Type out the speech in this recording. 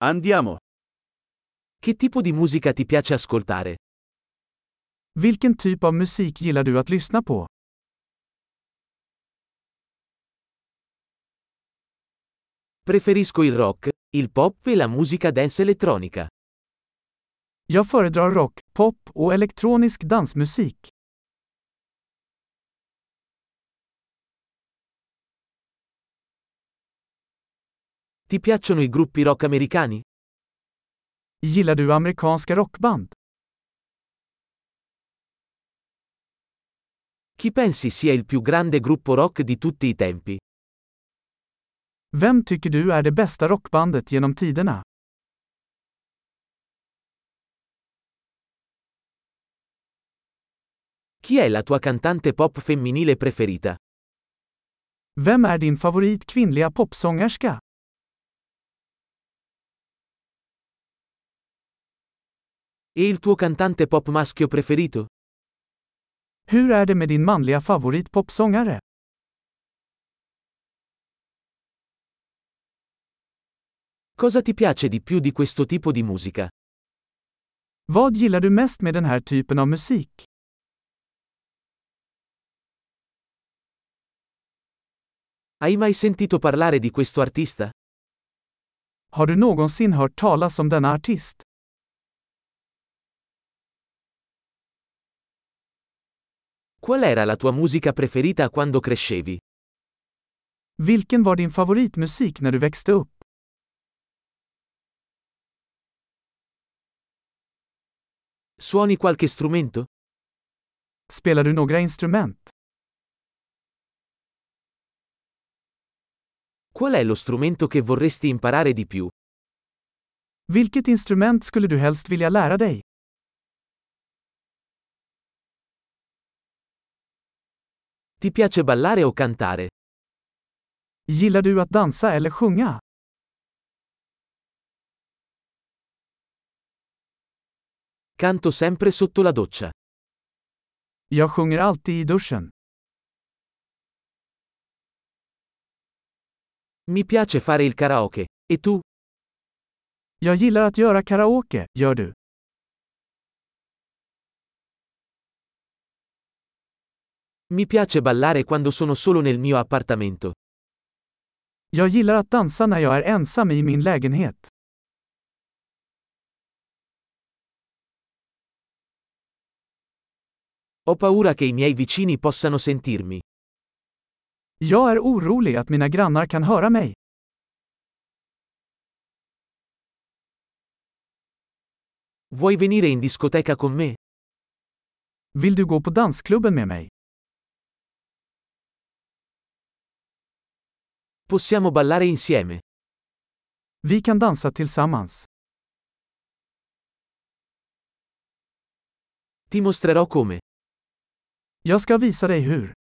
Andiamo. Che tipo di musica ti piace ascoltare? Vilken typ av musik gillar du att lyssna på? Preferisco il rock, il pop e la musica dance elettronica. Jag föredrar rock, pop och elektronisk dansmusik. Ti piacciono i gruppi rock americani? Gillar du amerikanska rockband? Chi pensi sia il più grande gruppo rock di tutti i tempi? Vem tycker du är det bästa rockbandet genom tiderna? Chi è la tua cantante pop femminile preferita? Vem är din favorit kvinnliga popsångerska? E il tuo cantante pop maschio preferito? Hur är det med din manliga favorit popsångare? Cosa ti piace di più di questo tipo di musica? Vad gillar du mest med den här typen av musik? Hai mai sentito parlare di questo artista? Har du någonsin hört talas om denna artist? Qual era la tua musica preferita quando crescevi? Vilken var din favoritmusik när du växte upp? Suoni qualche strumento? Spelar du några instrument? Qual è lo strumento che vorresti imparare di più? Vilket instrument skulle du helst vilja lära dig? Ti piace ballare o cantare? Gillar du att dansa eller sjunga? Canto sempre sotto la doccia. Jag sjunger alltid i duschen. Mi piace fare il karaoke. E tu? Jag gillar att göra karaoke, gör du? Mi piace ballare quando sono solo nel mio appartamento. Jag gillar att dansa när jag är ensam i min lägenhet. Ho paura che i miei vicini possano sentirmi. Jag är orolig att mina grannar kan höra mig. Vuoi venire in discoteca con me? Vill du gå på dansklubben med mig? Possiamo ballare insieme. Vi kan dansa tillsammans. Ti mostrerò come. Jag ska visa dig hur.